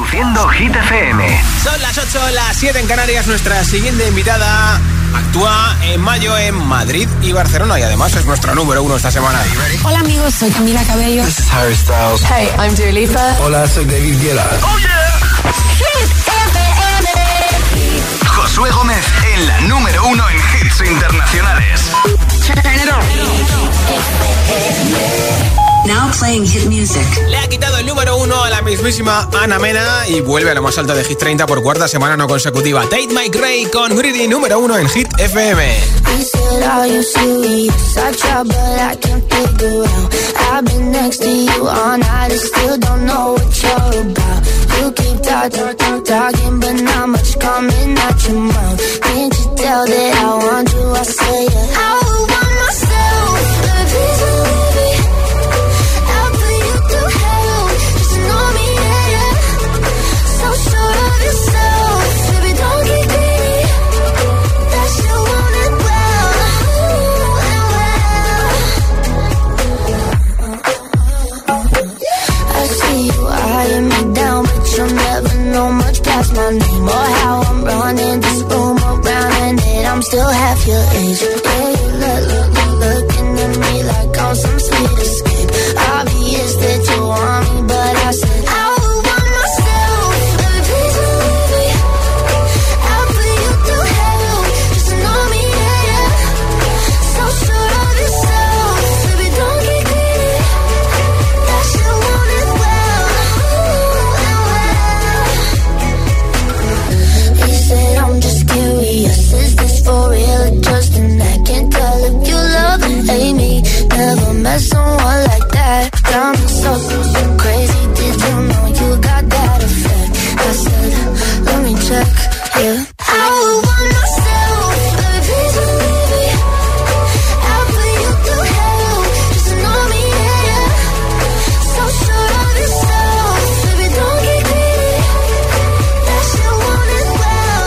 Reproduciendo Hit FM. Son las 8, las 7 en Canarias. Nuestra siguiente invitada actúa en mayo en Madrid y Barcelona y además es nuestra número 1 esta semana. Hola amigos, soy Camila Cabello. This is Harry Styles. Hey, I'm Dua Lipa. Hola, soy David Guetta. ¡Oh, yeah! Hit FM. Josué Gómez en la número 1 en hits internacionales. Now playing hit music. Le ha quitado el número 1 a la mismísima Ana Mena y vuelve a lo más alto de Hit 30 por cuarta semana no consecutiva. Tate McRae con Greedy, número 1 en Hit FM. My name or how I'm running this room around and it I'm still half your age. Yeah, you looking at me like I'm some sweet escape. Obvious that you want me, but I said I would want myself. Baby, please believe me. I'll put you through hell. Just to know me, yeah, yeah. So sure of yourself. Baby, don't get greedy. That shit want it well. I'm just curious, is this for real or just an act? Can't tell if you love and hate me. Never met someone like that. Got me so crazy, did you know you got that effect? I said, let me check, yeah. I would want myself, baby, please believe me. I'll put you through hell, just to know me, yeah, yeah. So sure of yourself, baby, don't get greedy. That shit want it well.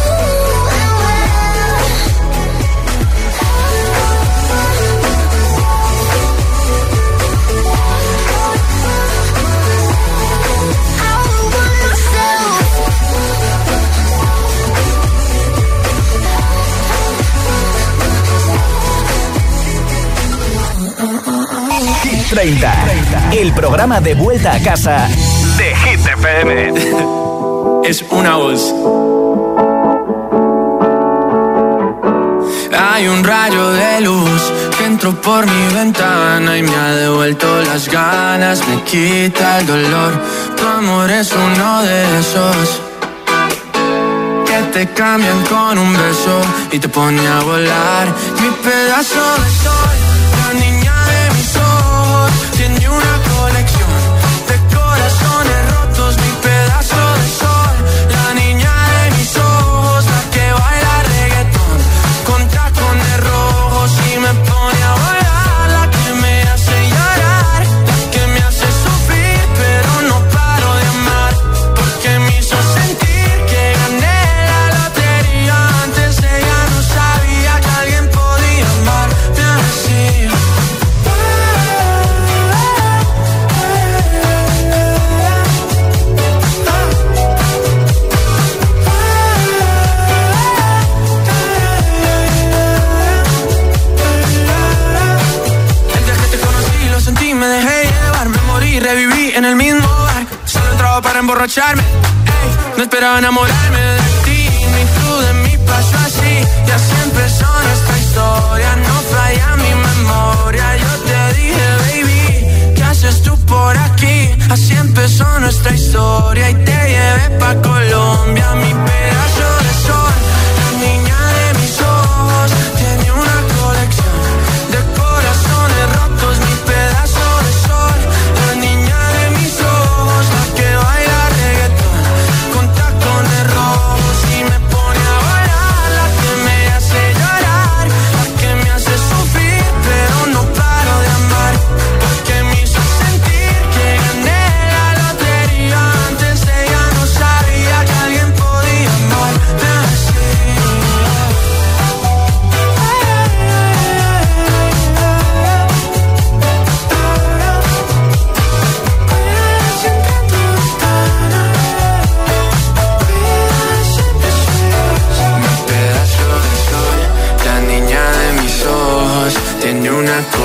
Hit 30, el programa de vuelta a casa de Hit FM. Es una voz. Hay un rayo de luz que entró por mi ventana y me ha devuelto las ganas, me quita el dolor. Tu amor es uno de esos que te cambian con un beso y te pone a volar. Mi pedazo de sol, la niña de mis ojos, tiene una colección de corazones rotos. Mi pedazo de sol, la niña de mis ojos, la que baila reggaetón con tacones rojos y me pone a volar. La que me hace llorar, la que me hace sufrir, pero no paro de amar, porque me hizo sentir que gané la lotería. Antes ella no sabía que alguien podía amarme así. Reviví en el mismo bar, solo entraba para emborracharme. Ey, no esperaba enamorarme de ti, ni tú de mí, pasó así. Y así empezó nuestra historia, no falla mi memoria. Yo te dije, baby, ¿qué haces tú por aquí? Así empezó nuestra historia y te llevé pa' Colombia. Mi pedazo de sol, la niña de mis ojos, tiene una colección de corazones rotos. Mi pedazo de sol, la niña de mis ojos, la que baila reggaetón con tacones rojos y me pone a volar. La que me hace llorar, la que me hace sufrir, pero no paro de amar, porque me hizo sentir que gané la lotería. Antes ella no sabía que alguien podía amar.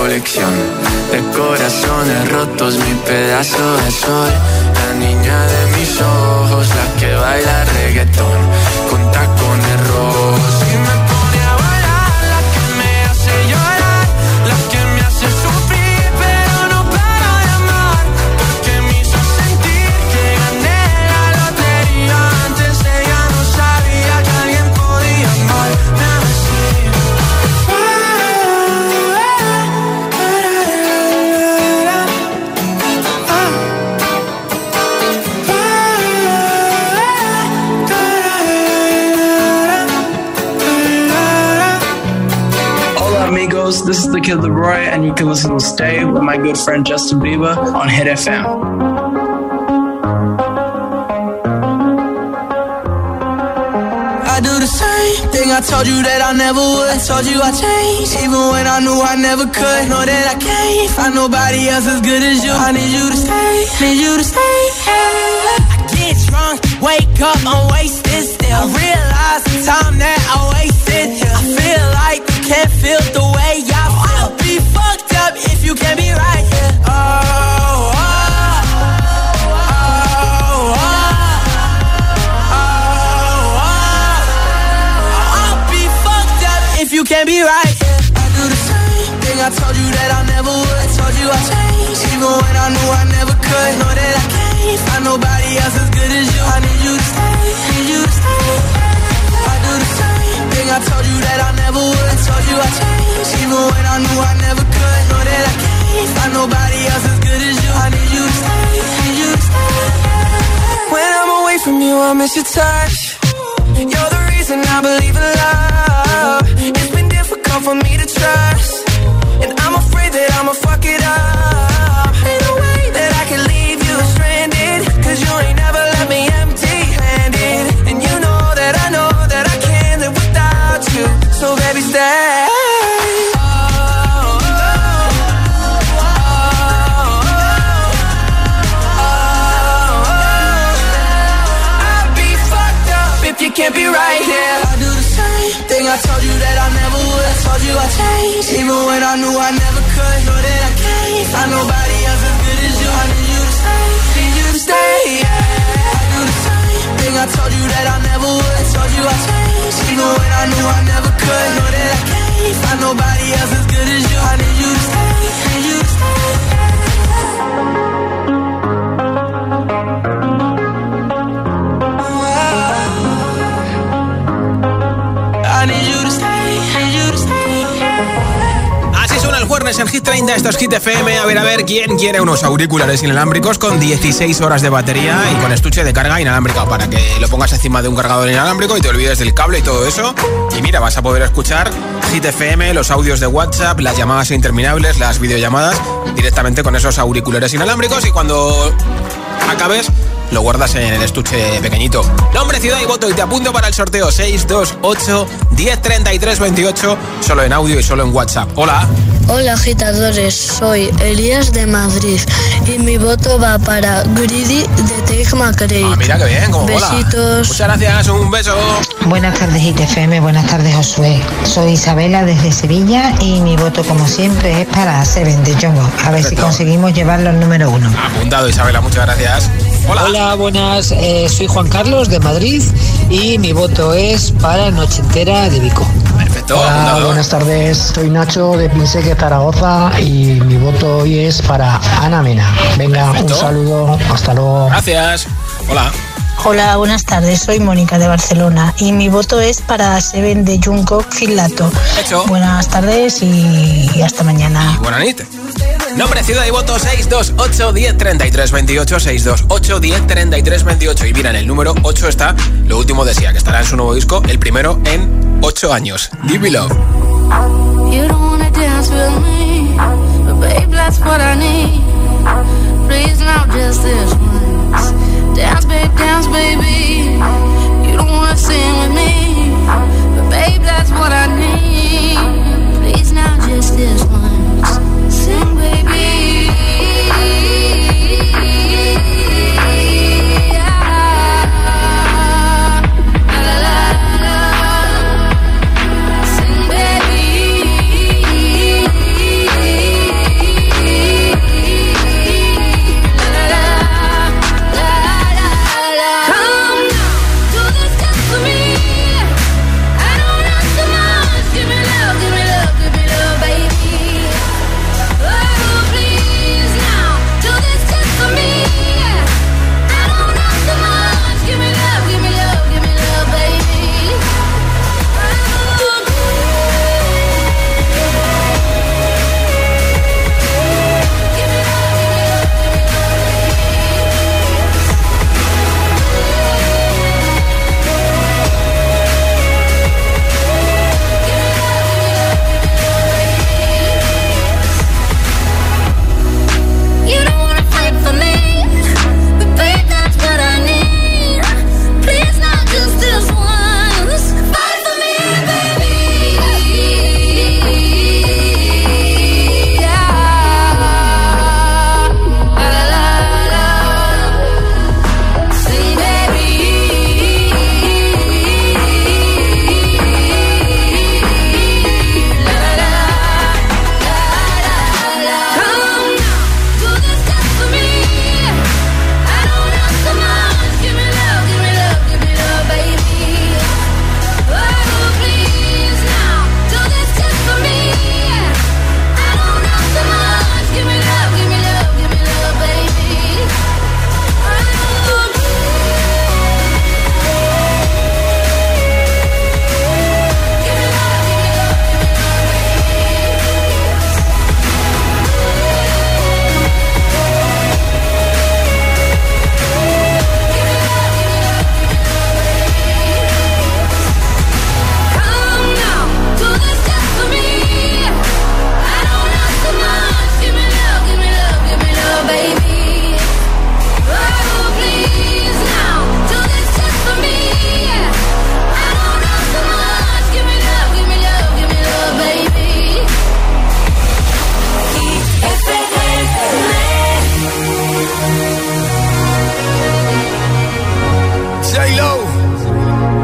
colección de corazones rotos, mi pedazo de sol. La niña de mis ojos, la que baila reggaetón con tacones rojos y me pone a bailar, la que me hace llorar, la que me hace sufrir, pero no paro de amar, porque me hizo sentir que gané la lotería. Antes ella no sabía que alguien podía amarme así. Amigos, this is the Kid Leroy, and you can listen to Stay with my good friend Justin Bieber on Hit FM. I do the same thing I told you that I never would. I told you I changed, even when I knew I never could. Know that I can't find nobody else as good as you. I need you to stay, need you to stay. I get drunk, wake up, I'm wasted still. I realize the time that I wasted here. I feel like you can't feel the way I feel. I'll be fucked up if you can't be right here. Oh, oh, oh, oh, oh, oh. I'll be fucked up if you can't be right here. I do the same thing I told you that I never would. I told you I changed, even when I knew I never could. Know that I can't find nobody else as good as you. I need you to stay, need you to stay. I do the same thing I told you that I never would. I told you I changed, even when I knew I never could. Know that I can't find nobody else as good as you. I need you to stay, need you to stay. When I'm away from you, I miss your touch. You're the reason I believe in love. It's been difficult for me to trust, and I'm afraid that I'ma fuck it up. Ain't no way that I can leave you stranded, 'cause you ain't never left me empty-handed. And you know that I can't live without you. So baby, stay. I'll be fucked up if you can't be right here. I do the same thing I told you that I never would. I told you I changed, even when I knew I never could. Know that I can't find nobody else as good as you. I need you to stay, need you to stay. Yeah. I do the same thing I told you that I never would. I told you I changed, even when I knew I never could. Know that I can't find nobody else as good as you. I need you to stay, need you to stay. I need you to stay, need you to stay. Así suena el jueves en Hit 30, esto es Hit FM. A ver, ¿quién quiere unos auriculares inalámbricos con 16 horas de batería y con estuche de carga inalámbrica? Para que lo pongas encima de un cargador inalámbrico y te olvides del cable y todo eso. Y mira, vas a poder escuchar Hit FM, los audios de WhatsApp, las llamadas interminables, las videollamadas directamente con esos auriculares inalámbricos, y cuando acabes lo guardas en el estuche pequeñito. Nombre, ciudad y voto, y te apunto para el sorteo 628 1033 28, solo en audio y solo en WhatsApp. Hola. Hola agitadores, soy Elías de Madrid y mi voto va para Greedy de Take My Credit. Ah, mira qué bien, como mola. Besitos. Muchas gracias, un beso. Buenas tardes Hit FM, buenas tardes Josué. Soy Isabela desde Sevilla y mi voto como siempre es para Seven de Jongo. A ver si conseguimos llevarlo al número 1. Apuntado, Isabela, muchas gracias. Hola. Hola, buenas, soy Juan Carlos de Madrid y mi voto es para Noche Entera de Vico. Perfecto. Hola, buenas tardes, soy Nacho de Pinseque, Zaragoza, y mi voto hoy es para Ana Mena. Venga, perfecto. Un saludo, hasta luego. Gracias. Hola. Hola, buenas tardes, soy Mónica de Barcelona y mi voto es para Seven de Jungkook Filato. Hecho. Buenas tardes y hasta mañana. Y buena nit. Nombre, ciudad y voto 628 1033 28, 628 1033 28. Y mira, en el número 8 está lo último de Sia, que estará en su nuevo disco, el primero en 8 años. Give Me Love. You don't wanna dance with me, but babe, that's what I need. Please now just this once. Dance, baby. You don't wanna sing with me, but babe, that's what I need. Please now just this once. Sing, baby. Sing, baby.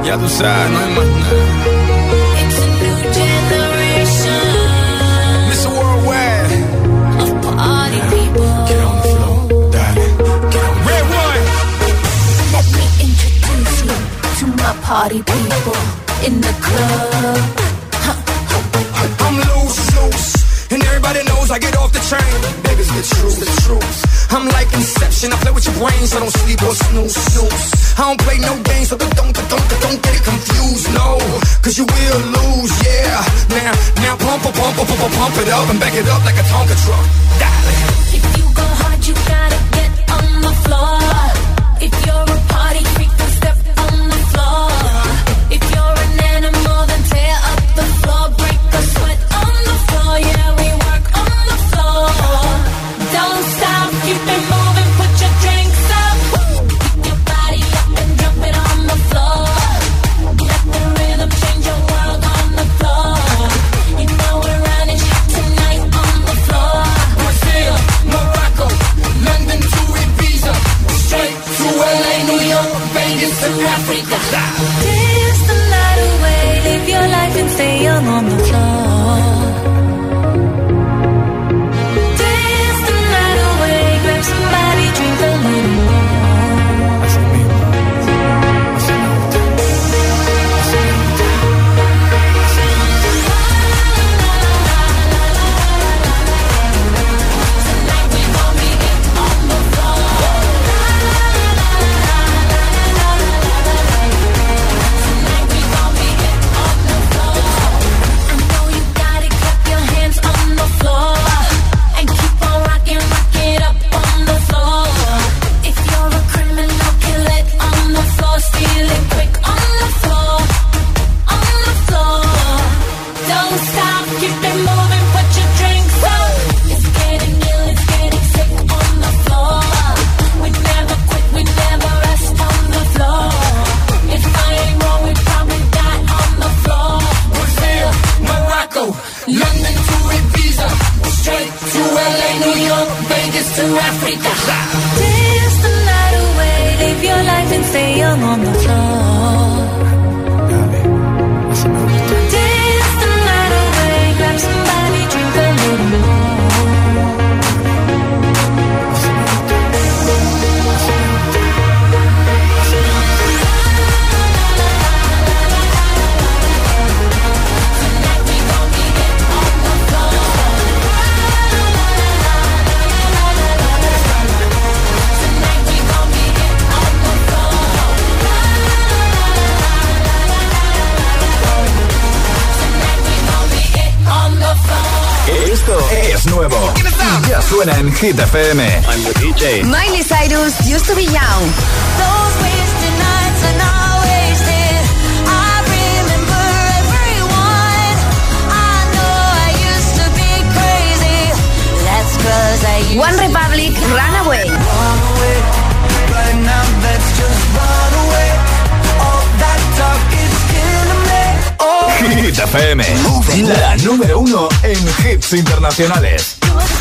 Ya tú sabes, no hay más nada. It's a new generation. Mr. Worldwide. Of party people. Get on the floor, darling. Get on the Red One. Let me introduce you to my party people in the club. I'm loose, and everybody knows I get off the train. Baby's the truth. I'm like Inception, I play with your brains, so don't sleep or snooze. I don't play no games, so don't get it confused, no. Cause you will lose, yeah. Now pump it up and back it up like a Tonka truck. Darling. If you go hard, you gotta get on the floor. If you're a party freak, then step on the floor. If you're an animal, then tear up the floor. Break a sweat on the floor, yeah, we work on the floor. Don't stop, keep it moving, put your drinks up. Pick your body up and drop it on the floor. Let the rhythm change your world on the floor. You know we're running tonight on the floor. Brazil, Morocco, London to Ibiza, straight to LA, New York, Vegas to Africa. Dance the night away, live your life and stay young on the floor. Dance the night away, grab somebody, drink a little more. Tonight we gon' be it on the floor. Tonight we gon' be it on the floor. I know you got it, clap your hands on the floor. And keep on rocking, rock it up on the floor. If you're a criminal, kill it on the floor. Steal it quick on the floor. On the floor. Don't stop, keep it moving, put your drinks up. It's getting ill, it's getting sick on the floor. We never quit, we never rest on the floor. If I ain't wrong, we probably die on the floor. Brazil, Morocco, London to Ibiza, straight to LA, New York, Vegas to Africa. Dance the night away, live your life and stay young on the floor. Dance the night away, grab somebody, drink a little more. Tonight we gon' be it on the floor. Tonight we gon' be it on the floor. Tonight we gon' be it on the floor. Esto es nuevo. Ya suena en Hit FM. I'm the DJ. Miley Cyrus used to be young. Those wasted nights are not wasted. I remember everyone. I know I used to be crazy. That's 'cause I used One Republic, Runaway. Right now, let's just run away. All that talk is killing me. Oh. Hit FM. La número 1 en hits internacionales.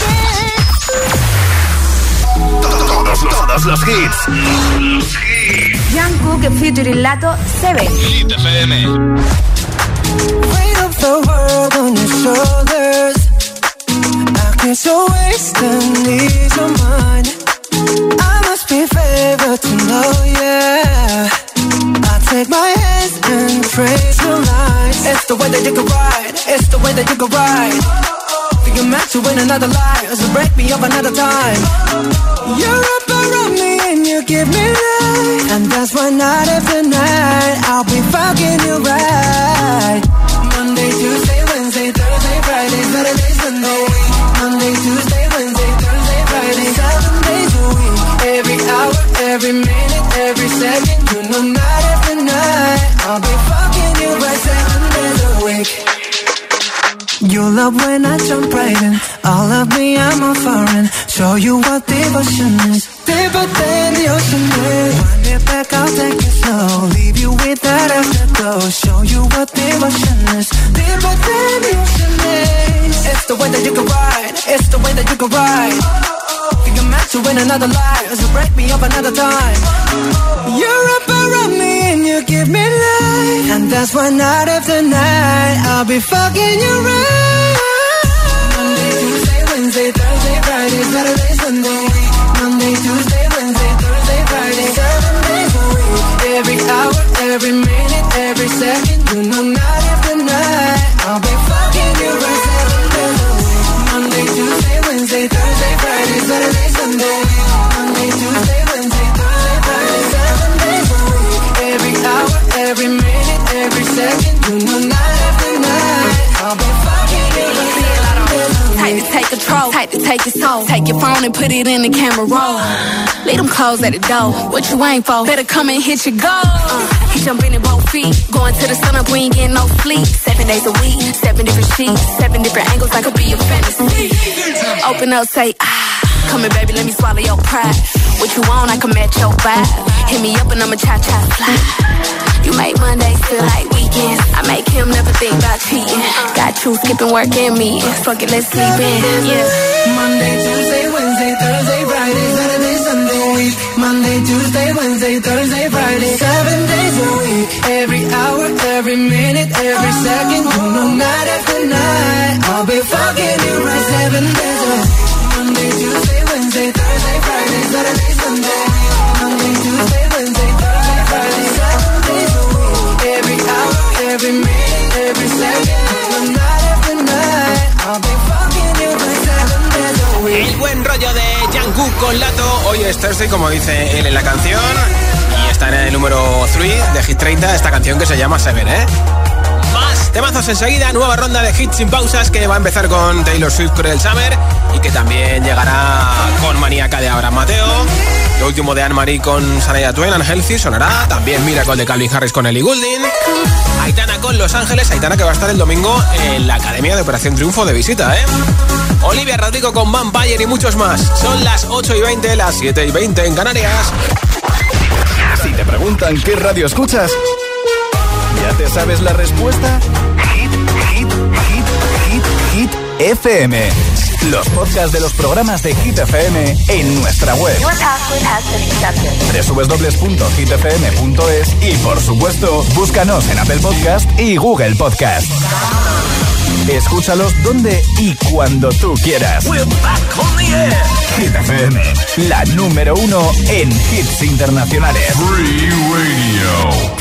Todos los hits. Jungkook featuring Lato, Seven. Hit FM. Weight of the world on your shoulders. I get so wasted, ease your mind. I must be favored to know, yeah. I take my hands and praise your lines. It's the way that you can ride. It's the way that you can ride. Think you're meant to win another life, so break me up another time. You're up around me and you give me life, and that's why night after night I'll be fucking you right. Monday, Tuesday, Wednesday, Thursday, Friday, Saturday, Sunday. Monday, Tuesday, Wednesday, Thursday, Friday, 7 days a week. Every hour, every minute, every second. You know night after night I'll be fucking you right 7 days a week. You love when I jump right in. All of me, I'm a foreign. Show you what devotion is. Deeper than the ocean is. Wind it back, I'll take it slow. Leave you with that afterglow. Show you what devotion is. Deeper than the ocean is. It's the way that you can ride. It's the way that you can ride. Think I'm meant to win another life, so break me up another time. You're up around me and you give me life, night after night, I'll be fucking you right. Monday, Tuesday, Wednesday, Thursday, Friday, Saturday, Sunday. Monday, Tuesday, Wednesday, Thursday, Friday, 7 days a week. Every hour, every minute, every second, you know, night after night, I'll be fucking you right 7 days a week. Monday, Tuesday, Wednesday, Thursday, Friday, Saturday, Sunday. Monday, Tuesday, Wednesday, Thursday, Friday, 7 days a week. Every hour, every minute, every second, you know, night after night, I'll be fucking you right 7 days a week. Type to take control, type to take your soul. Take your phone and put it in the camera roll. Leave them clothes at the door. What you ain't for? Better come and hit your goal. Jumping in both feet, going to the sun up, we ain't getting no sleep. 7 days a week, 7 different sheets, 7 different angles, I could be a fantasy. Open up, say come here, baby, let me swallow your pride. What you want, I can match your vibe. Hit me up and I'ma cha-cha slide. You make Mondays feel like weekends. I make him never think about cheating. Got you skipping work and me. Fuck it, let's sleep in. Yeah. Monday, Tuesday, Wednesday, Thursday, Friday, Saturday, Sunday. Monday, Tuesday, Wednesday, Thursday, Friday, 7 days a week. Every hour, every minute, every second, you know, night after night, I'll be fucking you right 7 days a week. Monday, Tuesday, Wednesday, Thursday, Friday, Saturday, Sunday. Monday, Tuesday, Wednesday, Thursday, Friday, 7 days a week. Every hour, every minute, every second, you know, night after night, I'll be fucking you right 7 days a week. El buen rollo de Jungkook con Lato. Hoy es Thursday, como dice él en la canción. Y está en el número 3 de Hit 30, esta canción que se llama Seven, ¿eh? Más temazos enseguida, nueva ronda de hits sin pausas que va a empezar con Taylor Swift Cruel Summer y que también llegará con Maníaca de Abraham Mateo. Lo último de Anne-Marie con Shania Twain, Unhealthy sonará. También Miracle de Calvin Harris con Ellie Goulding. Aitana con Los Ángeles. Aitana que va a estar el domingo en la Academia de Operación Triunfo de visita, ¿eh? Olivia Rodrigo con Vampire y muchos más. Son las 8:20, las 7:20 en Canarias. Si te preguntan qué radio escuchas, ¿ya te sabes la respuesta? Hit FM. Los podcasts de los programas de Hit FM en nuestra web. www.hitfm.es y por supuesto, búscanos en Apple Podcast y Google Podcast. Escúchalos donde y cuando tú quieras. Hit FM, la número 1 en hits internacionales. Free Radio.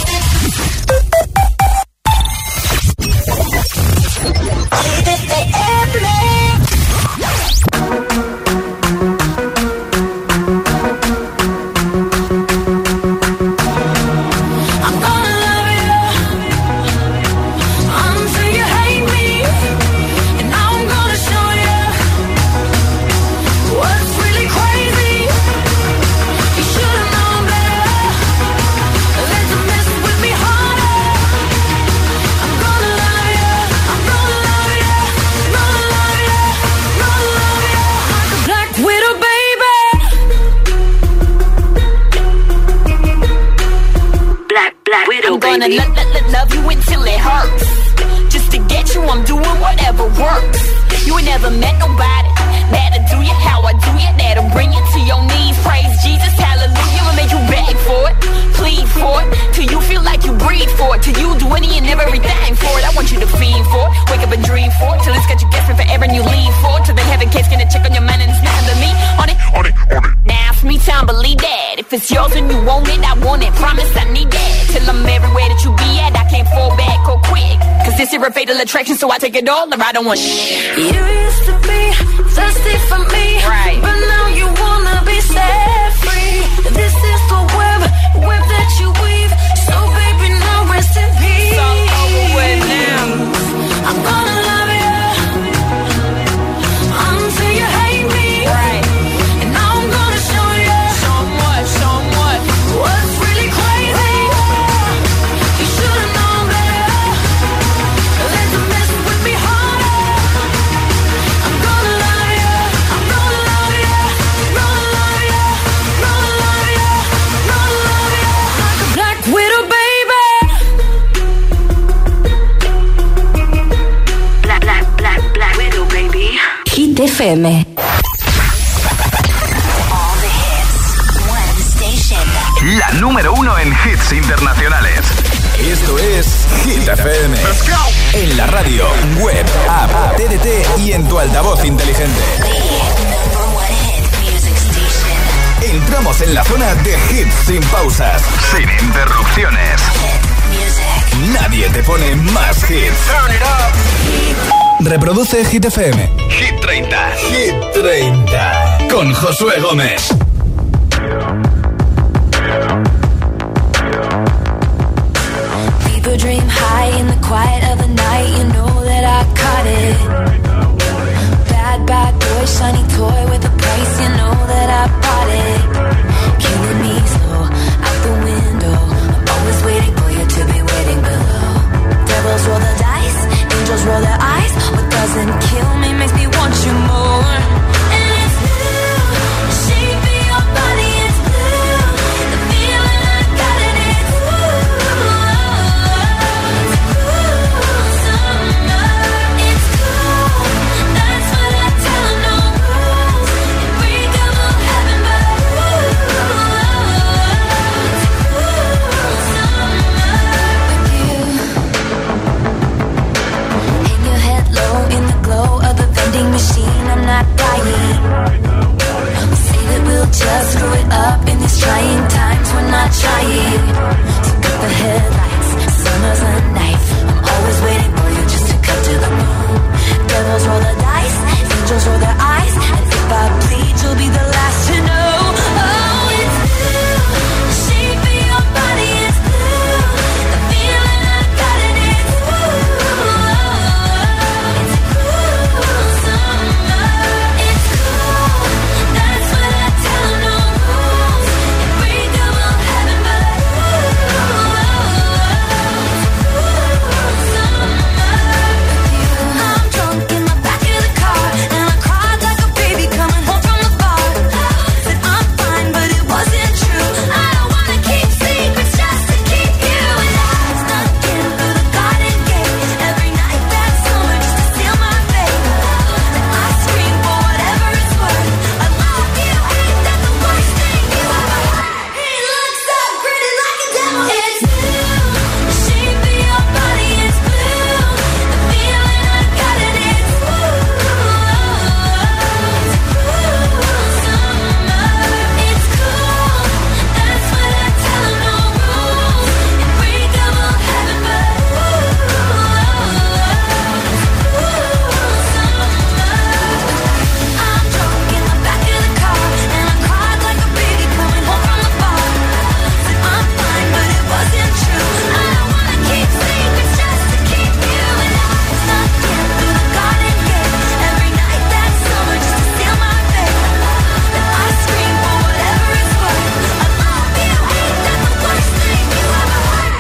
Love you until it hurts. Just to get you, I'm doing whatever works. You ain't never met nobody that'll do you how I do you. That'll bring you to your knees. Praise Jesus, hallelujah. I'ma make you beg for it, plead for it, till you feel like you breathe for it, till you do any and everything for it. I want you to fiend for it, wake up and dream for it, till it's got you guessing forever and you leave for it, till they have a case, gonna check on your mind and it's nothing to me. On it. Now it's me time, believe that. If it's yours and you want it, I want it. Promise I need that. Till I'm everywhere that you be at, I can't fall back or quick. Cause this here a fatal attraction, so I take it all or I don't want shit. You used to be thirsty for me, right? But now you wanna be set free. This is the web that you weave. So baby, now rest in peace. It's all over with now. I'm gonna love you until you hate me, right? And I'm gonna show you what's really crazy. You should've known better. Let the mess with me harder. I'm gonna love you. I'm gonna love you. Gonna love you. Gonna love you. Gonna love you like a black widow, baby. Black widow, baby. Hit FM. la número 1 en hits internacionales. Esto es Hit FM. Let's go. En la radio, web, app, TDT y en tu altavoz inteligente. Entramos en la zona de hits sin pausas, sin interrupciones. Nadie te pone más hits. Turn it up. Reproduce Hit FM. Hit 30. Hit 30. Con Josué Gómez. People dream high in the quiet of the night. You know that I caught it. Bad, bad boy, shiny toy with a price. You know that I bought it. Killing me slow, out the window. I'm always waiting for you to be waiting below. Devils roll the dice, angels roll their eyes. What doesn't kill me makes me want you more. And it's blue, the shape of your body is blue. The feeling I got it is blue. It's cool summer, it's cool. That's what I tell 'em, no rules. Unbreakable heaven, but it's cool summer with you. Hang your head low in the glow of the vending machine. I'm not dying. Say that we'll just screw it up in these trying times. We're not trying. So cut the headlights. Summer's a knife. I'm always waiting for you just to cut to the bone. Devils roll the dice. Angels roll their eyes. And if I bleed, you'll be the last to know. Oh, it's blue. The shape of your body is blue. The feeling I got it is blue. It's cool summer. It's cool. That's what I tell 'em, no rules. Unbreakable heaven, but I'm drunk in the back of the car, and I cried like a baby coming home from the bar. Said I'm fine, but it wasn't true. I don't wanna keep secrets just to keep you. And I snuck in through the garden gate every night that summer just to seal my fate. Then I scream for whatever it's worth. I love you, ain't that the worst thing you ever heard? He looks so pretty like a devil. It's blue, the shape of your body is blue. The feeling I got it is blue. It's cool summer, it's cool. That's what I tell 'em, no rules. Unbreakable heaven, but it's cool summer. I'm drunk in the back of the car, and I cried like a baby coming home from the bar. Said I'm fine, but it wasn't true. I don't wanna keep secrets just to keep you. And I snuck in through the garden gate every night that summer just to seal my fate. Then I scream for whatever it's worth. I love you, ain't that the worst thing you ever heard?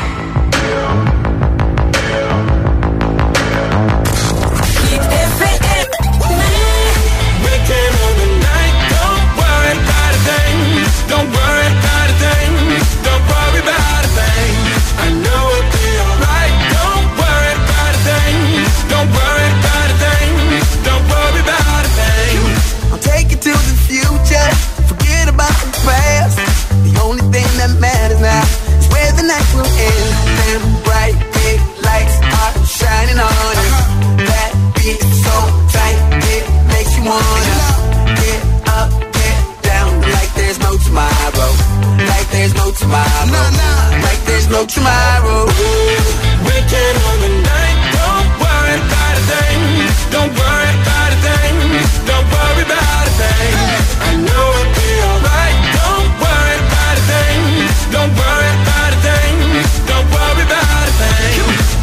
We came on the night. Don't worry about a thing. Don't worry about a thing. Don't worry about a thing. I know it'll be alright. Don't worry about a thing. Don't worry about a thing. Don't worry about a thing. I'll take you to the future. Forget about the past. The only thing that matters now is where the night will end. And bright big lights are shining on you. That beat is so tight, it makes you wanna get up, get down, like there's no tomorrow. Like there's no tomorrow. Like there's no tomorrow. We came on the night. Don't worry about a thing. Don't worry about a thing. Don't worry about a thing. I know it'll be alright. Don't worry about a thing. Don't worry about a thing. Don't worry about a thing.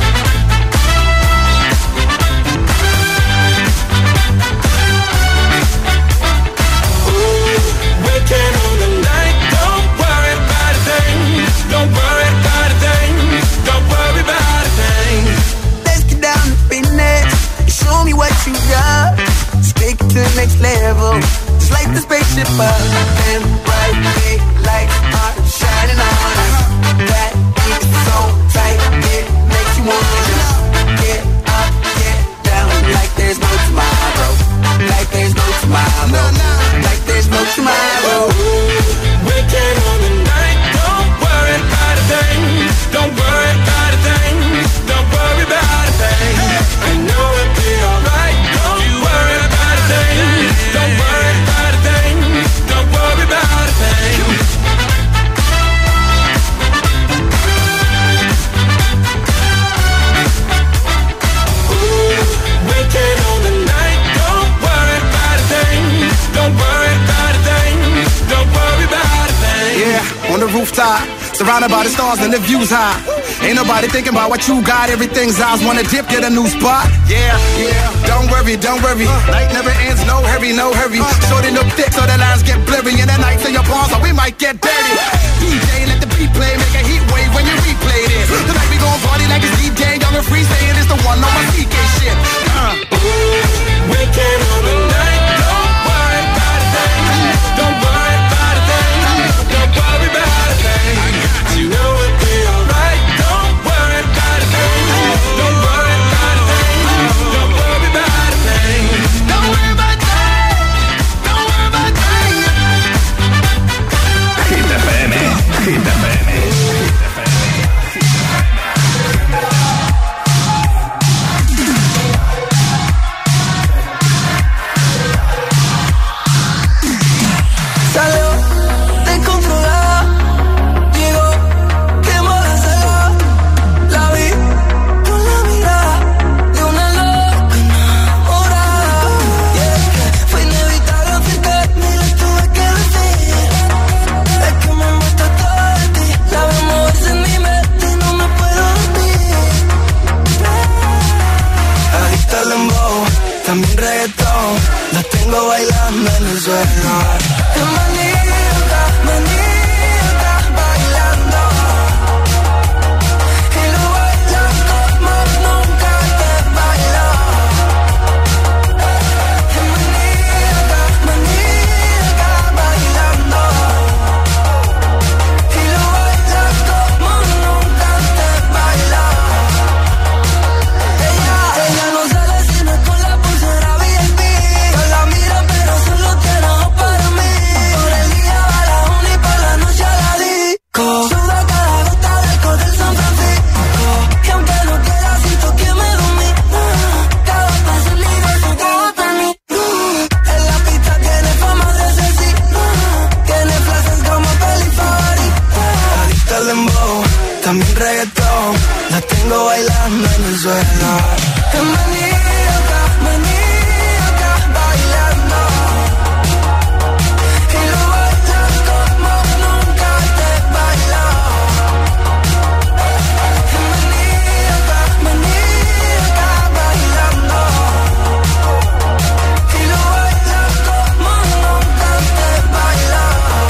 We came on the night. Don't worry about a thing. Don't worry about a thing. Don't worry about a thing. Let's get down to business. Show me what you got. Just take it to the next level. Just like the Surrounded by the stars and the views high. Ain't nobody thinking about what you got. Everything's ours. Wanna dip, get a new spot. Yeah, don't worry. Night never ends, no hurry. Shorten up thick so the lines get blurry. And the nights in your palms, so we might get dirty. DJ, let the beat play, make a heat wave when you replay this. Tonight we gon' party like it's DJ, young and free, saying it's the one on my CK shit. We came on the night, don't worry about a thing. Don't worry about a thing. Don't worry about a thing. You know it'll be alright. Don't worry about a thing. Don't worry about a thing. Don't worry about a thing. Don't worry about a thing. Don't worry about a thing. Hit FM, Hit FM. También reggaetón, la tengo bailando en el suelo. Qué maníaca, bailando. Y lo bailan como nunca te bailó. Qué maníaca, bailando. Y lo bailan como nunca te bailó. Ella no sale si no es con la pulsera VIP. Yo la miro pero solo tiene ojos para mí. Por el día va la una y por la noche a la disco. Suda cada gota del alcohol del San Francisco. Y aunque no quiera siento que me domina. Cada paso libre su gota en mí. En la pista tiene fama de asesina. Tiene frases como peli favorita. Adicta al dembow, también reggaetón. La tengo bailando en el suelo. Qué maníaca, bailando. Y lo bailan como nunca te bailó. Qué maníaca, bailando. Y lo bailan como nunca te bailó.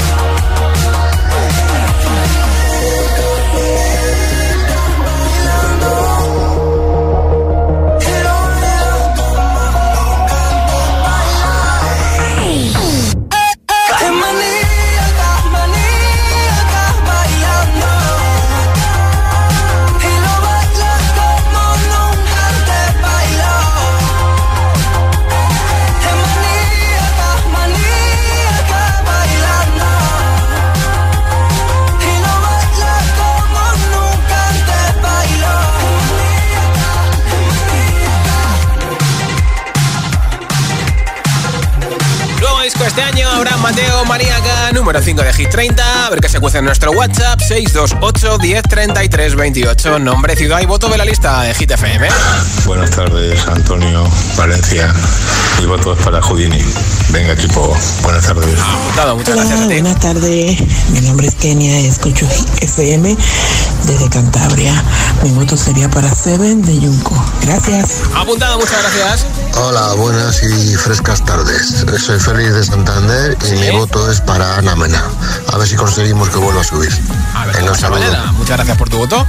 Este año Abraham Mateo, Maníaca, número 5 de Hit 30. A ver qué se cuece en nuestro WhatsApp, 628 10 33 28. Nombre, ciudad y voto de la lista de Hit FM. Buenas tardes, Antonio, Valencia. Mi voto es para Houdini. Venga, equipo, buenas tardes. Apuntado, muchas gracias a ti. Buenas tardes, mi nombre es Kenia, escucho Hit FM desde Cantabria. Mi voto sería para Seven de Junco. Gracias. Apuntado, muchas gracias. Hola, buenas y frescas tardes. Soy Félix de Santander y mi voto es para Ana Mena. A ver si conseguimos que vuelva a subir. Venga, un saludo. Muchas gracias por tu voto.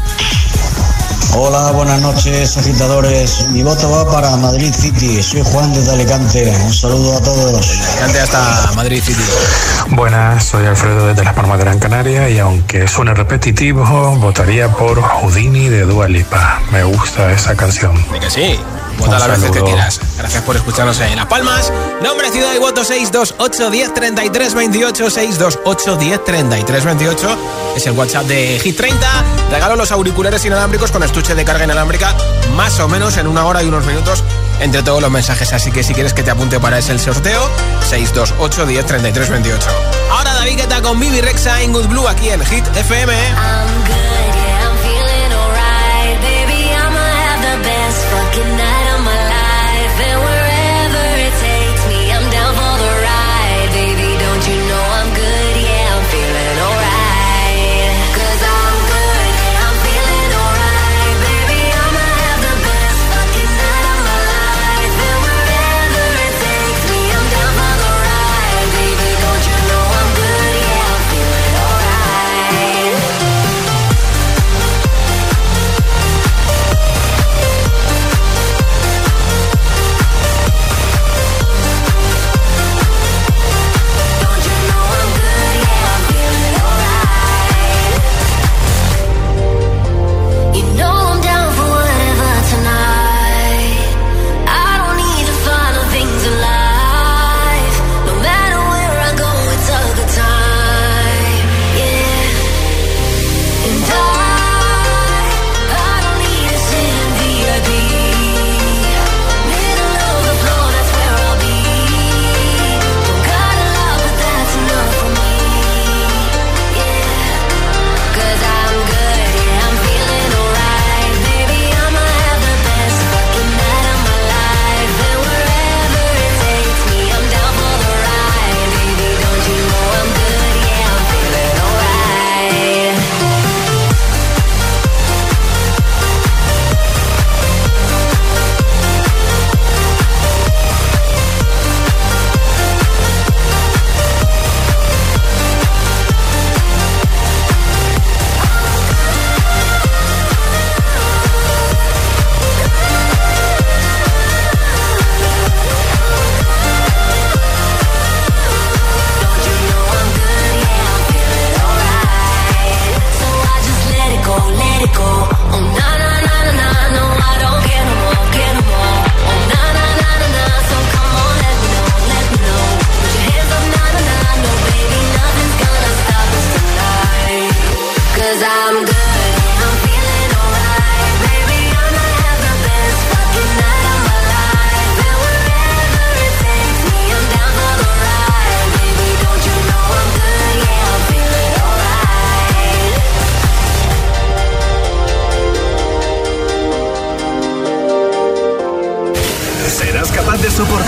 Hola, buenas noches, agitadores. Mi voto va para Madrid City. Soy Juan desde Alicante. Un saludo a todos. Alicante hasta Madrid City. Buenas, soy Alfredo desde Las Palmas de Gran Canaria y aunque suene repetitivo, votaría por Houdini de Dua Lipa. Me gusta esa canción. ¿De que sí? Vota las veces que quieras. Gracias por escucharnos en Las Palmas. Nombre, ciudad y voto 628 10 33 28. 628 10 33 28 es el WhatsApp de Hit 30. Regalo los auriculares inalámbricos con estuche de carga inalámbrica más o menos en 1 hora y unos minutos entre todos los mensajes. Así que si quieres que te apunte para ese el sorteo, 628 10 33 28. Ahora David Guetta con Bibi Rexha en Good Blue aquí en Hit FM. Fucking night of my life, and wherever it takes me, I'm down for the ride. Baby, don't you know I'm good? Yeah, I'm feeling alright. 'Cause I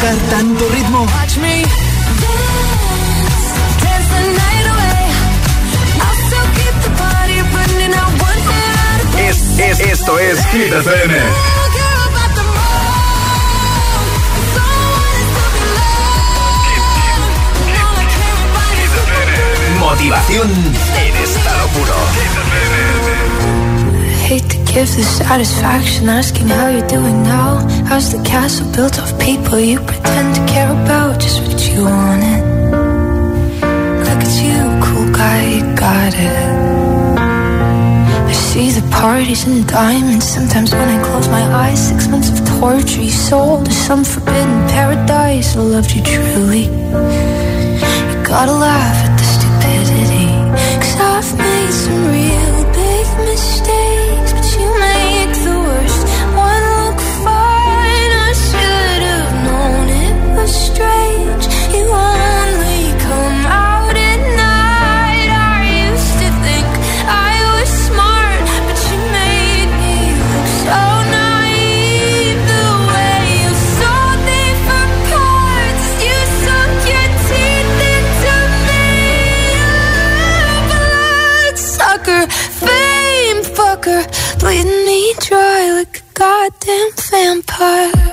manejar tanto ritmo? Esto es Hit FM. Motivación en estado puro. Hate to give the satisfaction asking how you're doing now. How's the castle built of people you pretend to care about? Just what you wanted. Look at you, cool guy, you got it. I see the parties and diamonds. Sometimes when I close my eyes, 6 months of torture you sold to some forbidden paradise. I loved you truly. You gotta laugh at the stupidity, 'cause I've made some real big mistakes, but you make the worst one look fine. I should have known it was strange. You only come out at night. I used to think I was smart, but you made me look so naive. The way you sold me for parts, you sunk your teeth into me. Bloodsucker, fame fucker, bleeding me dry like a goddamn vampire.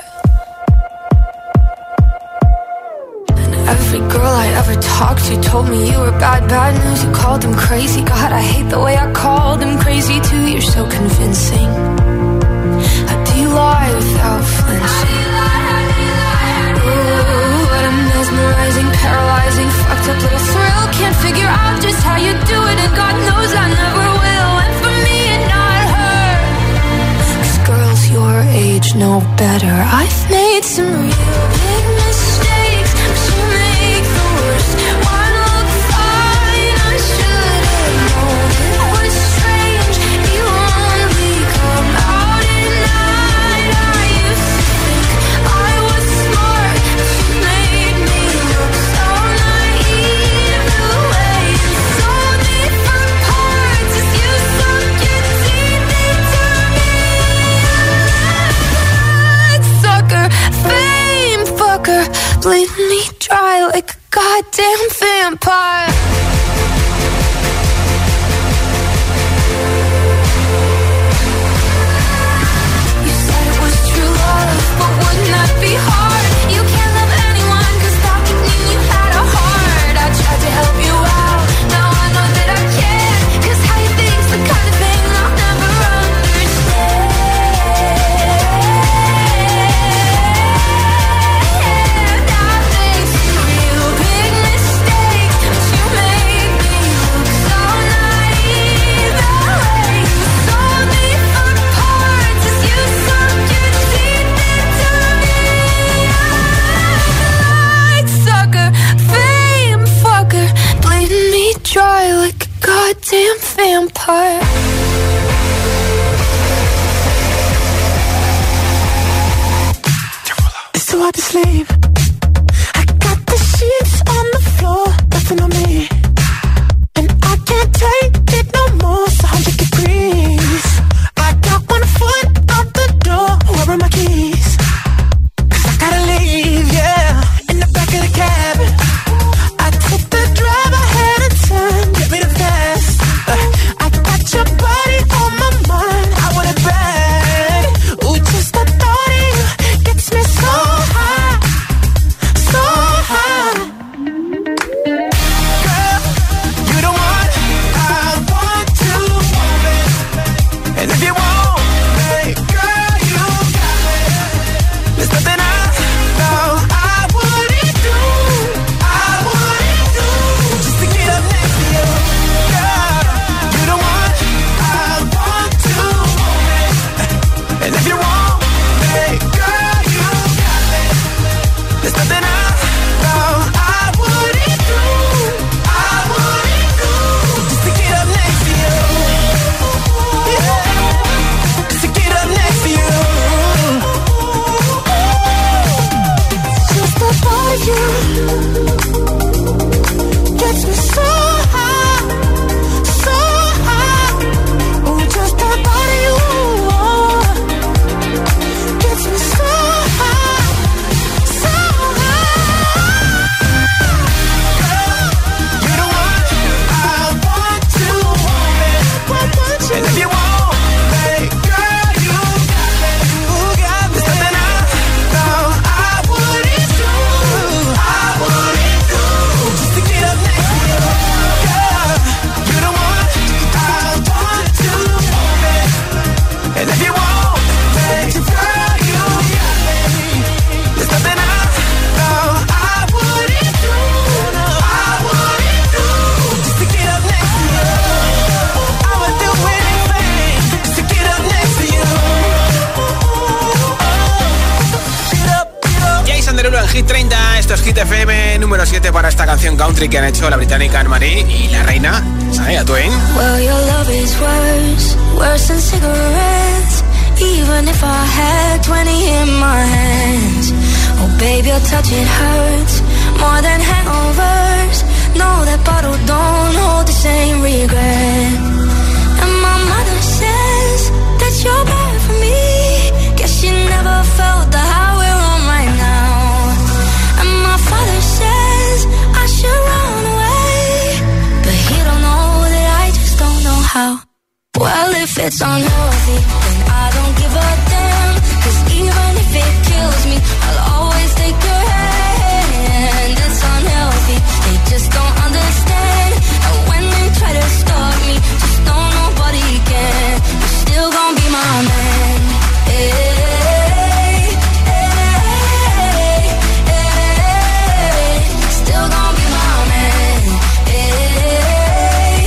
And every girl I ever talked to told me you were bad, bad news. You called them crazy. God, I hate the way I called them crazy too. You're so convincing. How do you lie without flinching? Ooh, what a mesmerizing, paralyzing, fucked up little thrill. Can't figure out just how you do it, and God knows I never will. And for me and not her, 'cause girls your age know better. I've made some real big mistakes, but you make the worst one look fine. I should have known it was strange. You only come out at night. I used to think I was smart, but you made me look so naive. The way you sold me for parts is you sunk your teeth into me. Bloodsucker, fame fucker, bleeding me dry like a goddamn vampire. You said it was true love, but wouldn't that be hard? You can't love anyone, 'cause that could mean you had a heart. I tried to help you out, now I know that I can't, 'cause how you think's the kind of thing I'll never understand. I made some real big mistakes, but you made me look so naive. The way you sold me for parts is you sunk your teeth into me. Bloodsucker, fame fucker, bleeding me dry like a goddamn vampire. It's too hard to sleep. I got the sheets on the floor, nothing on me. And I can't take it no more, it's 100 degrees. I got 1 foot out the door, where are my keys? 'Cause I gotta leave, yeah. In the back of the cab, I took the drive, I had a turn, get me the fast. I got your body on my mind, I want it bad. Ooh, just the thought of you gets me so high. Esto es Hit FM número 7 para esta canción country que han hecho la británica Anne-Marie y la reina Shania Twain. Well, your love is worse than cigarettes. Even if I had 20 in my hands. Oh, baby, your touch, it hurts more than hangovers. No, that bottle don't hold the same regret. And my mother says that you're bad for me. Guess she never felt the high we're on right now. And my father says I should run away, but he don't know that I just don't know how. Well, if it's unhealthy, then I don't give a damn. 'Cause even if it kills me, I'll always take your hand. It's unhealthy, they just don't understand. And when they try to stop me, just know nobody can. You're still gonna be my man. Hey, hey, hey, still gonna be my man. Hey,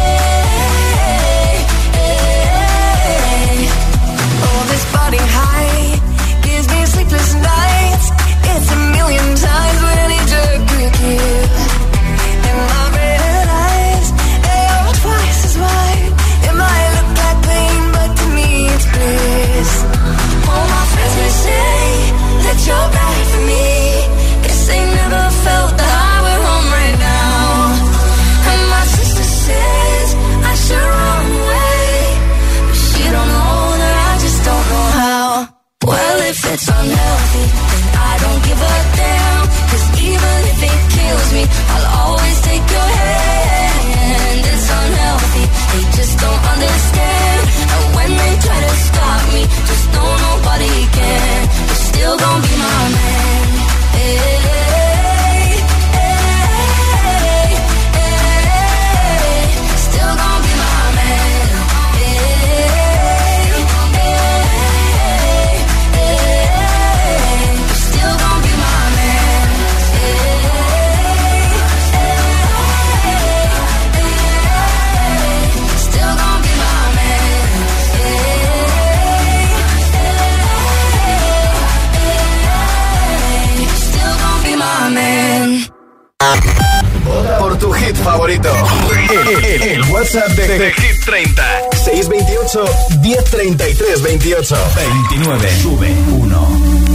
hey, hey. Oh, this body high gives me sleepless nights. It's a million times what I need to give. And my red eyes, they are twice as wide. It might look like pain, but to me it's bliss. All my friends may say that you're bad for me. Guess they never felt the high we're on right now. And my sister says I should run away, but she don't know that I just don't know how. Well, if it's unhealthy, then I don't give a damn. 'Cause even if it kills me, I'll always take your hand. It's unhealthy, they just don't understand. And when they try to stop me, just know nobody can. You're still gonna be my man. Hey, hey, hey, still gonna be my man. Hey, hey, hey, still gonna be my man. Hey, still gonna be my man. Still gonna be my man. Vota por tu hit favorito. El WhatsApp de Hit 30. 628 1033 28 29. Sube 1.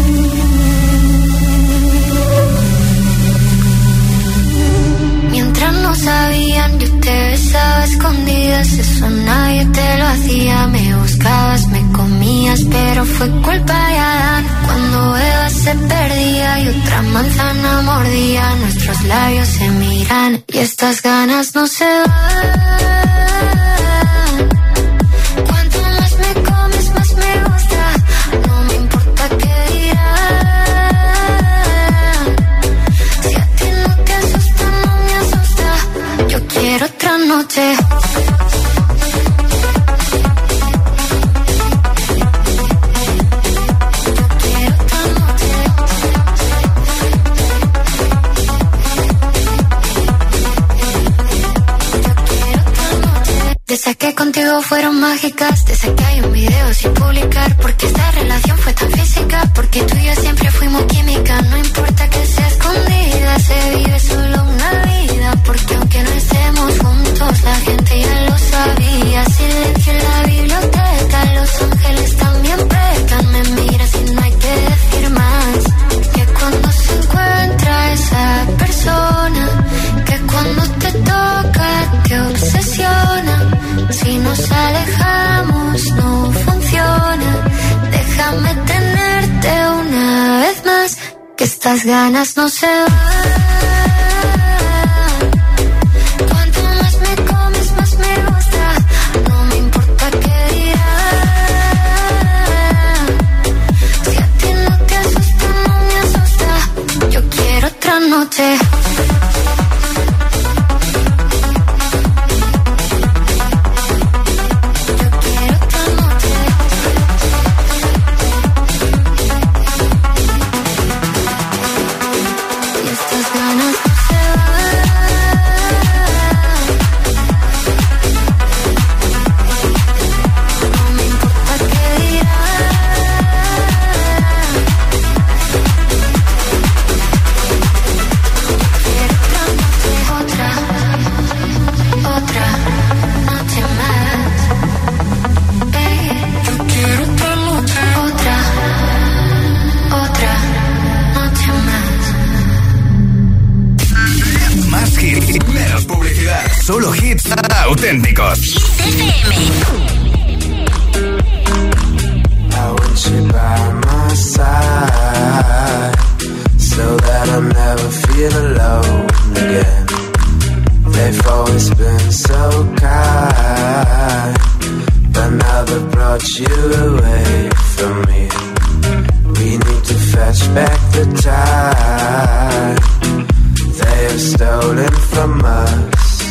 Mientras no sabían, yo te besaba a escondidas. Eso nadie te lo hacía. Me buscabas, me comías, pero fue culpa de Adán. Cuando Eva se perdía y otra manzana mordía, nuestros labios se miran y estas ganas no se van. Cuanto más me comes, más me gusta. No me importa qué dirán. Si a ti no te asusta, no me asusta. Yo quiero otra noche. Desde que contigo fueron mágicas, desde que hay un video sin publicar, porque esta relación fue tan física, porque tú y yo siempre fuimos química. No importa que sea escondida, se vive solo una vida, porque aunque no estemos juntos, la gente ya lo sabía. Silencio en la biblioteca, los ángeles también pecan. Me miras y no hay que decir más, que cuando se encuentra esa persona, que cuando te toca te obsesiona. Si nos alejamos no funciona. Déjame tenerte una vez más, que estas ganas no se van. Cuanto más me comes, más me gusta. No me importa qué dirán. Si a ti no te asusta, no me asusta. Yo quiero otra noche. Estas ganas auténticos. So that I'll never feel alone again. They've always been so kind, but now they've brought you away from me. We need to fetch back the time they have stolen from us.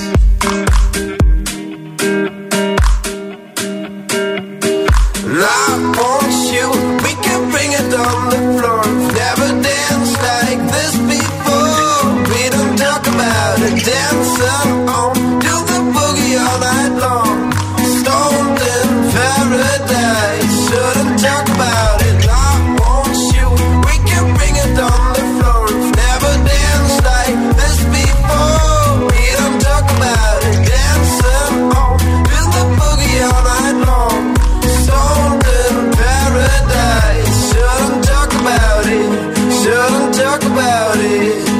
And I want you, we can bring it on the floor. Never danced like this before. We don't talk about it, dancing on, do the boogie all night long. Stoned in paradise, shouldn't talk about it. I want you, we can bring it on the floor. Never danced like this before. We don't talk about it, dancing on, do the boogie all night long. Stoned in paradise, shouldn't talk about it, shouldn't talk about it.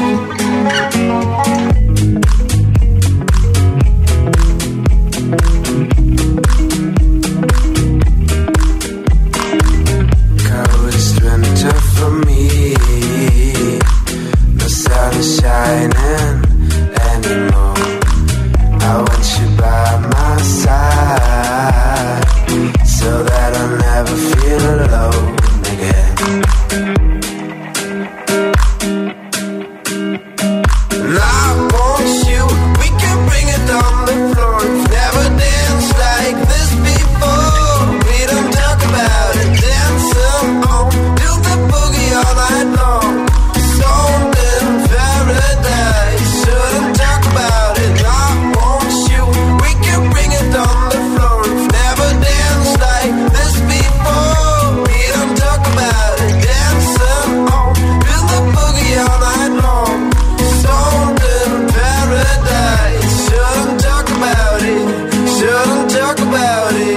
Coldest winter for me, no sun is shining anymore. I want you by my side, so that I'll never feel alone again. And I want you, we can bring it on the floor. Never danced like this before. We don't talk about it, dancing on, do the boogie all night long. Stoned in paradise, shouldn't talk about it. I want you, we can bring it on the floor. Never danced like this before. We don't talk about it, dancing on, do the boogie all night long. Stoned in paradise, shouldn't talk about it, shouldn't talk about it.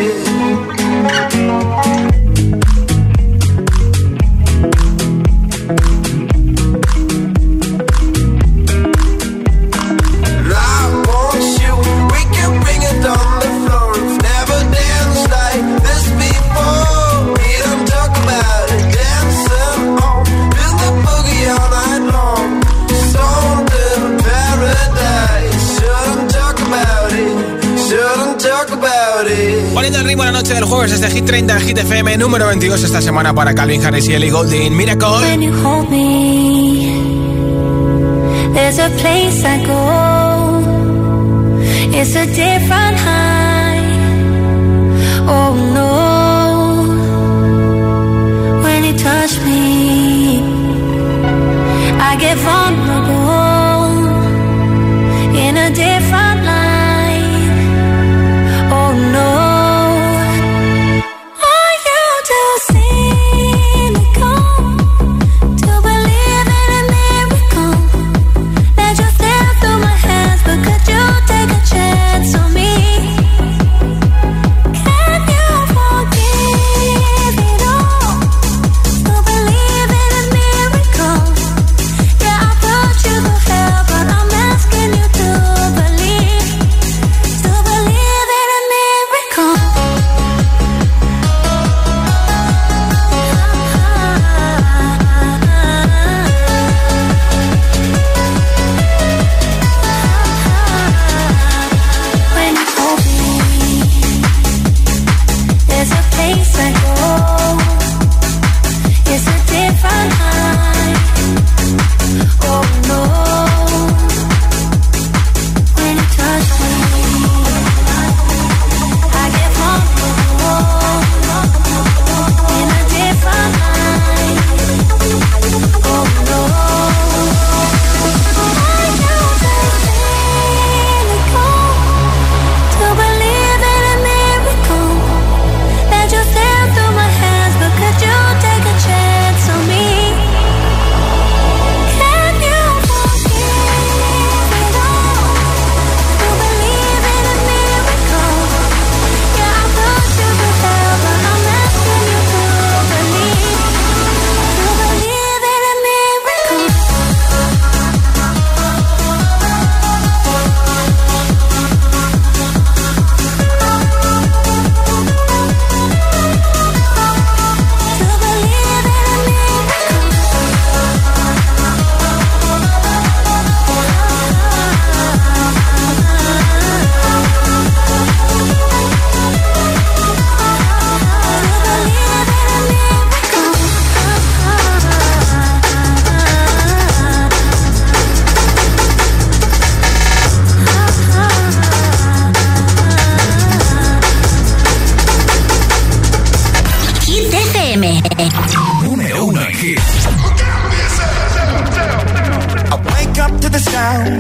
And I want you, we can bring it on the floor. Never danced like this before. We don't talk about it, dancing on, do the boogie all night long. Stoned in paradise, shouldn't talk about it, shouldn't talk about it. Poniendo el ritmo a la noche del jueves desde Hit 30 en Hit FM, número 22 esta semana para Calvin Harris y Ellie Goulding. Miracle. When you hold me, there's a place I go. It's a different high. Oh no. When you touch me, I get vulnerable in a different light. Oh no. Are you too cynical to believe in a miracle? Let you slip through my hands, but could you take a chance on me? Can you forgive it all? To believe in a miracle. Yeah, I put you through hell, but I'm asking you to believe in a miracle. When you hold me, there's a place I go. It's a different high. Oh no. When you touch me, I get vulnerable in a different light. Oh no. Are you too cynical to believe in a miracle? Let you slip through my hands.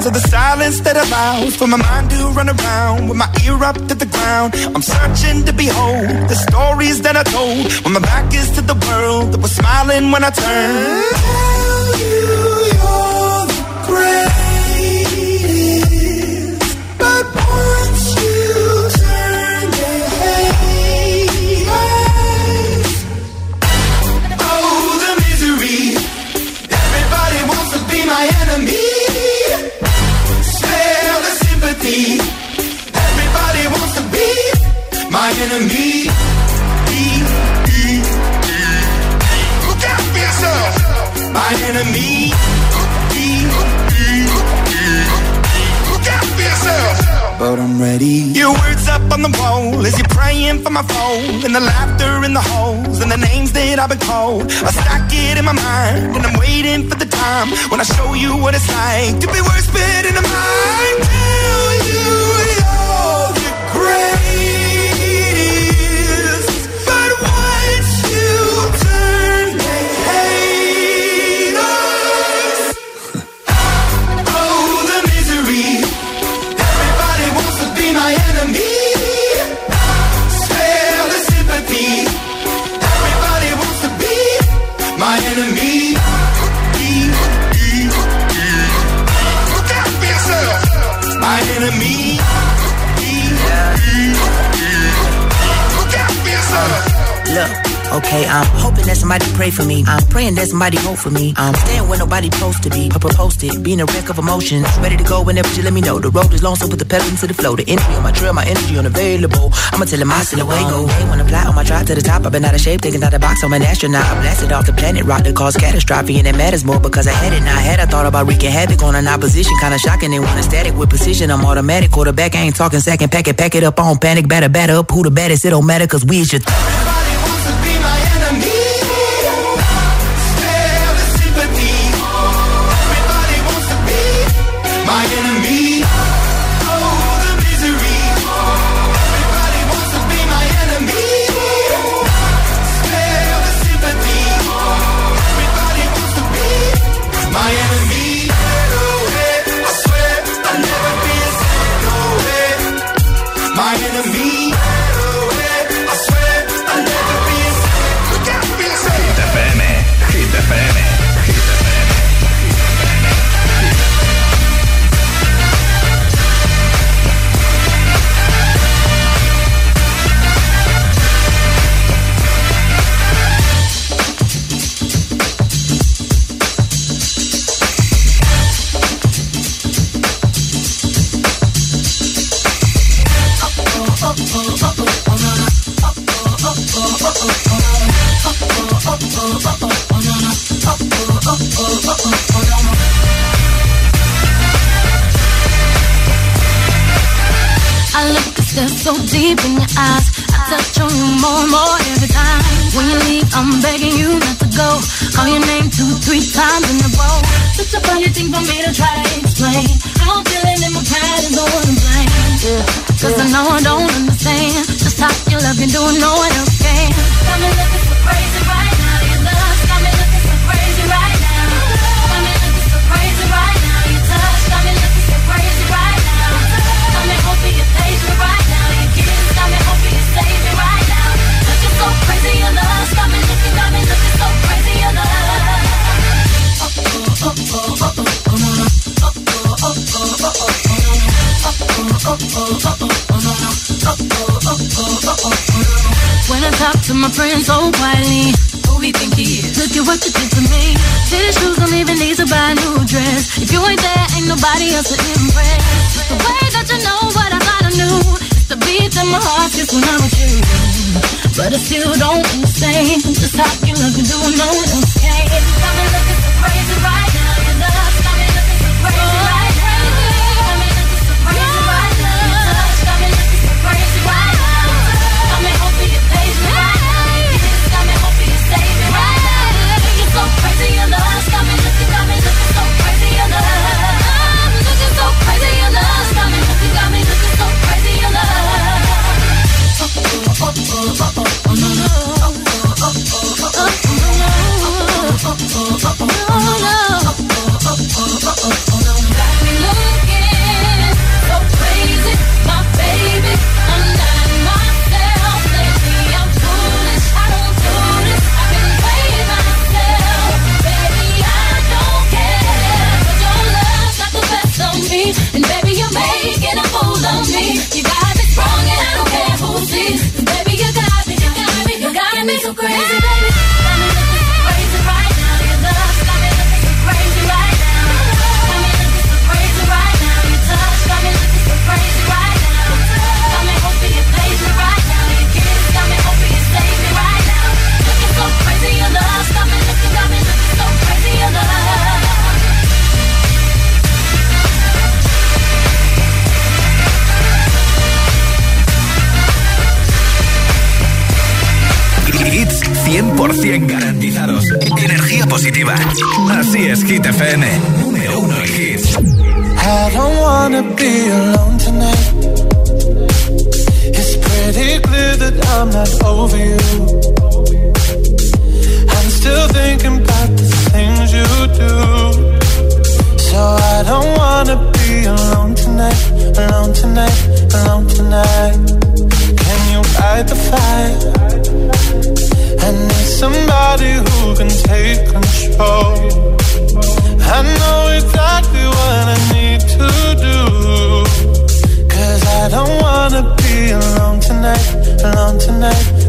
sounds of the silence that allows for my mind to run around with my ear up to the ground. I'm searching to behold the stories that I told when my back is to the world that was smiling when I turned. Tell you you're the greatest, but once you turn your head, oh, the misery. Everybody wants to be my enemy. Smell the sympathy. Everybody wants to be my enemy. Look out for yourself. My enemy. Look out for yourself. But I'm ready. Your words up on the wall as you're praying for my phone, and the laughter in the holes and the names that I've been called. I stack it in my mind and I'm waiting for the time when I show you what it's like to be worse fit in the mind. Tell you you're the greatest, but once you turn they hate us. Oh, the misery. Everybody wants to be my enemy. Spare the sympathy. Everybody wants to be my enemy. Look out for yourself. My enemy. Look out for yourself. Look, okay, I'm hoping that somebody pray for me. I'm praying that somebody hope for me. I'm staying where nobody supposed to be. Posted, being a wreck of emotions. Ready to go whenever you let me know. The road is long, so put the pedal into the flow. The energy on my trail, my energy unavailable. I'ma tell him I still away go. Hey, when I fly on my drive to the top, I've been out of shape, thinking out the box. I'm an astronaut. I blasted off the planet, rock that caused catastrophe, and it matters more because I had it. Now I had I thought about wreaking havoc on an opposition, kinda shocking. They want a static with precision. I'm automatic, quarterback. I ain't talking second. Pack it up on panic, batter up. Who the baddest? It don't matter, cause we is your my enemy. Oh, the misery. Everybody wants to be my enemy. Spare the sympathy. Everybody wants to be my enemy. I swear I'll never be a no way. My enemy. I swear I'll never be a look out for yourself. Hit FM. Hit FM. I look to stare so deep in your eyes. I touch on you more and more every time. When you leave, I'm begging you not to go. Call your name 2-3 times in a row. Such a funny thing for me to try to explain. How I'm feeling and my pride is the one to blame. Yeah. Cause I know I don't understand just how you love me doing no one else can. Got me looking so crazy right now. Your love got me looking so crazy right now. Got me looking so crazy right now. Your touch got me looking so crazy right now. Got me hoping you page me right now. Your kiss got me hoping you save me right now. Looking so crazy, your love got me looking so crazy, your love. When I talk to my friends so quietly, who we think he is? Look at what you did to me. Fitted shoes don't even need to buy a new dress. If you ain't there, ain't nobody else to impress. The way that you know what I thought I knew, it's the beat in my heart just when I'm with you. But I still don't understand just how you look and do no one else can. Got me looking so crazy right now. Your love got me looking so crazy right now. Got me looking so crazy right now. Your touch got me looking so crazy right now. Got me hoping you page me right now. Your kiss got me hoping you save me right now. You're so crazy, your love got me looking so crazy, your love. I'm looking so crazy, your love got me looking so crazy, your love. Oh, no, no. Oh, no, no. 100% garantizados. Energía positiva. Así es, Hit FM. Número 1 en hits. I don't wanna be alone tonight. It's pretty clear that I'm not over you. I'm still thinking about the things you do. So I don't wanna be alone tonight, alone tonight, alone tonight. Can you fight the fight? I need somebody who can take control. I know exactly what I need to do. 'Cause I don't wanna be alone tonight, alone tonight,